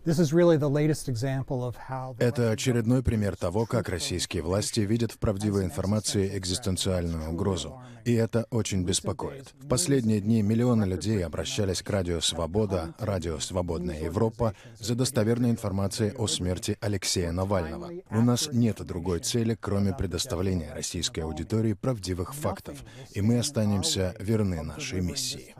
Это очередной пример того, как российские власти видят в правдивой информации экзистенциальную угрозу. И это очень беспокоит. В последние дни миллионы людей обращались к Радио Свобода, Радио Свободная Европа за достоверной информацией о смерти Алексея Навального. У нас нет другой цели, кроме предоставления российской аудитории правдивых фактов, и мы останемся верны нашей миссии.